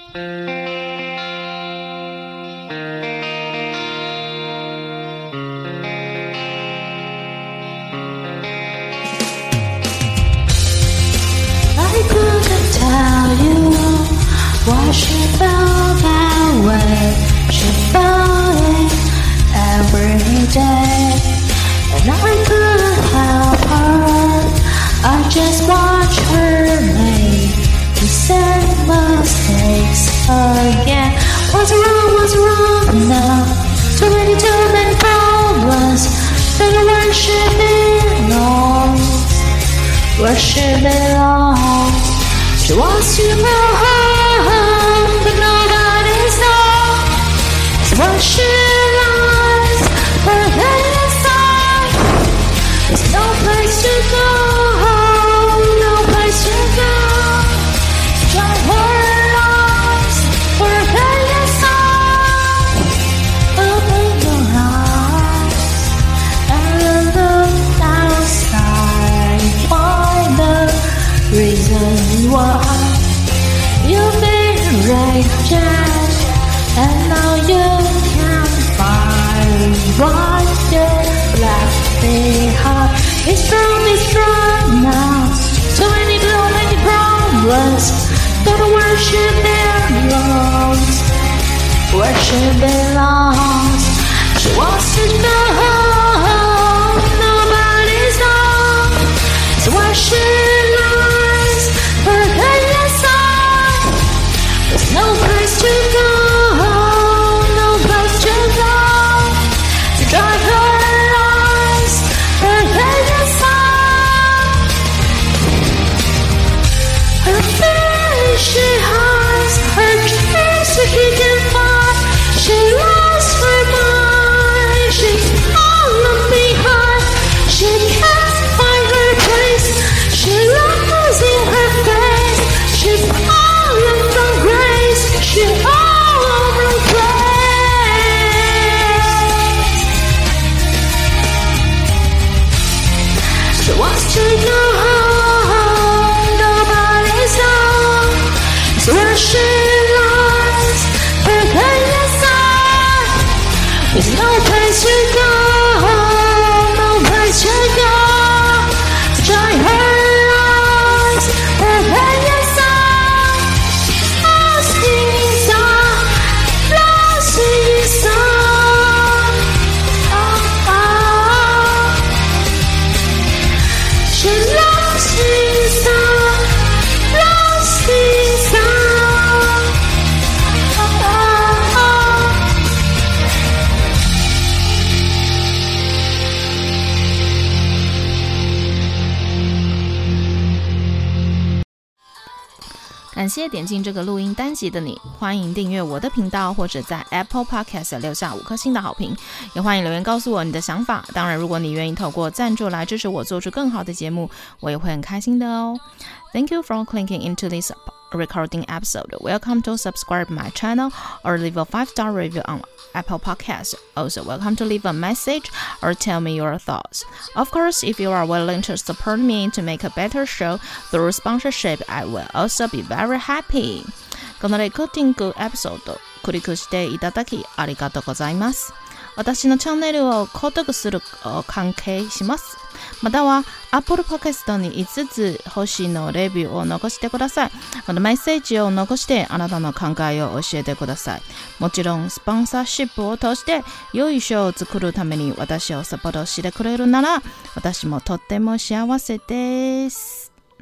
Why she felt that way? She felt it every day, and I couldn't help her. I just watched her make the same mistakes again. What's wrong now? Too many problems. Better where she belongs. Where she belongs. She wants to go home, but nobody knows where she lies. Her head inside. There's no place to go, no place to go. Drive her lost. Her head inside. Open your eyes and look outside. Find the reason why you've been rejected, and now you can't find what you left behind. It's strong now. So many problems. Go to where she belongs. Where she belongs. She wants to go home. Nobody's home. So where she lies. Her head inside. There's no place to go, no place to go. To drive her lies, her head inside. Her face she hides, her dreams that he can find. She lost her mind, she's fallen behind. She can't find her place, she losing her face. She's fallen from grace, she all over grace. She wants to go home, nobody's home. It's where she lies, her head inside. There's no place to go, no place to go. To try her lies, her head inside. Lost inside, lost inside. Oh, oh. She's lost inside, lost inside. Oh, oh, oh. 感谢點進這個錄音單集的你，歡迎訂閱我的頻道，或者在 Apple Podcast 留下5顆星的好評，也歡迎留言告訴我你的想法。當然，如果你願意透過贊助來支持我做出更好的節目，我也會很開心的哦。Thank you for clicking into this recording episode. Welcome to subscribe my channel or leave a 5-star review on Apple Podcasts. Also, welcome to leave a message or tell me your thoughts. Of course, if you are willing to support me to make a better show through sponsorship, I will also be very happy. このレコーディングエピソード、クリックしていただきありがとうございます。私のチャンネルを購読する関係します。または Apple Podcast に5つ星のレビューを残してください。またメッセージを残してあなたの考えを教えてください。もちろんスポンサーシップを通して良いショーを作るために私をサポートしてくれるなら私もとっても幸せです。